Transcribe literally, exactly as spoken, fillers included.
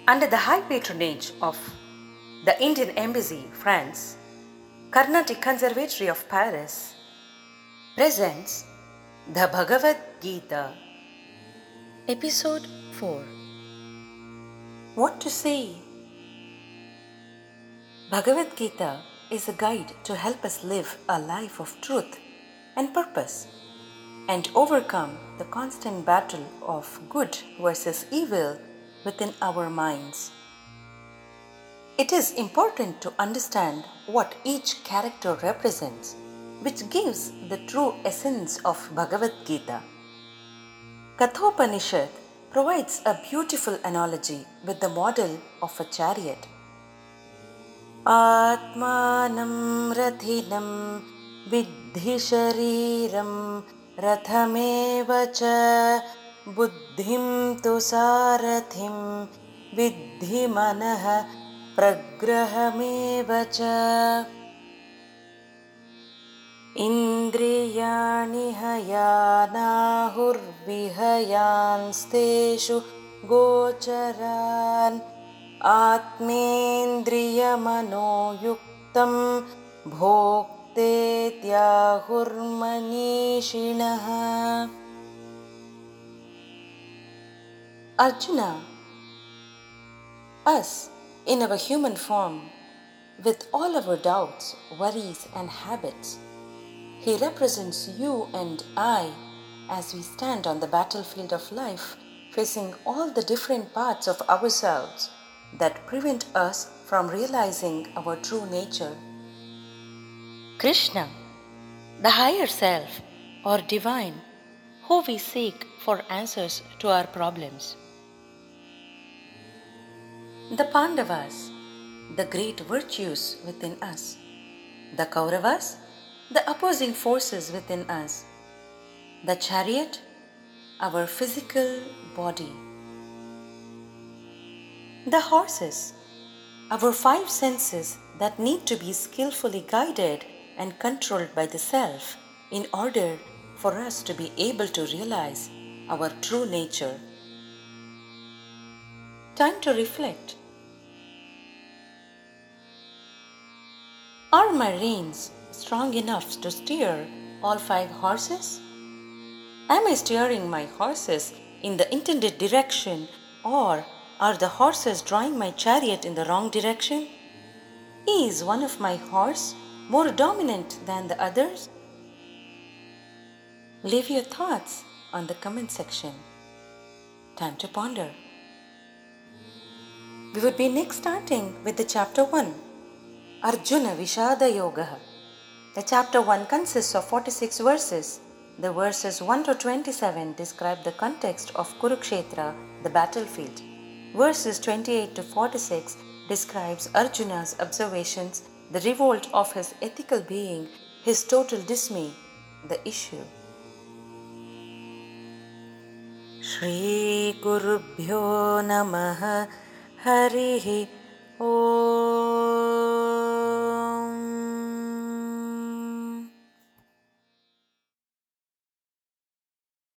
Under the high patronage of the Indian Embassy, France, Carnatic Conservatory of Paris presents the Bhagavad Gita, Episode four. What to say? Bhagavad Gita is a guide to help us live a life of truth and purpose and overcome the constant battle of good versus evil within our minds. It is important to understand what each character represents, which gives the true essence of Bhagavad Gita. Kathopanishad provides a beautiful analogy with the model of a chariot. Atmanam rathinam viddhi shariram rathameva cha buddhim tu sarathim viddhi manah pragrahameva cha indriyani hayanahur vihayansteshu gocharan atmendriya manoyuktam bhokte tyahurmanishinaha. Arjuna, us in our human form, with all our doubts, worries and habits, he represents you and I as we stand on the battlefield of life, facing all the different parts of ourselves that prevent us from realizing our true nature. Krishna, the higher self or divine, who we seek for answers to our problems. The Pandavas, the great virtues within us. The Kauravas, the opposing forces within us. The chariot, our physical body. The horses, our five senses that need to be skillfully guided and controlled by the self in order for us to be able to realize our true nature. Time to reflect. Are my reins strong enough to steer all five horses? Am I steering my horses in the intended direction, or are the horses drawing my chariot in the wrong direction? Is one of my horse more dominant than the others? Leave your thoughts on the comment section. Time to ponder. We would be next starting with the chapter one, Arjuna Vishada Yoga. The chapter one consists of forty-six verses. The verses one to twenty-seven describe the context of Kurukshetra, the battlefield. Verses twenty-eight to forty-six describes Arjuna's observations, the revolt of his ethical being, his total dismay, the issue. Shri Gurubhyo Namaha Harihi Om.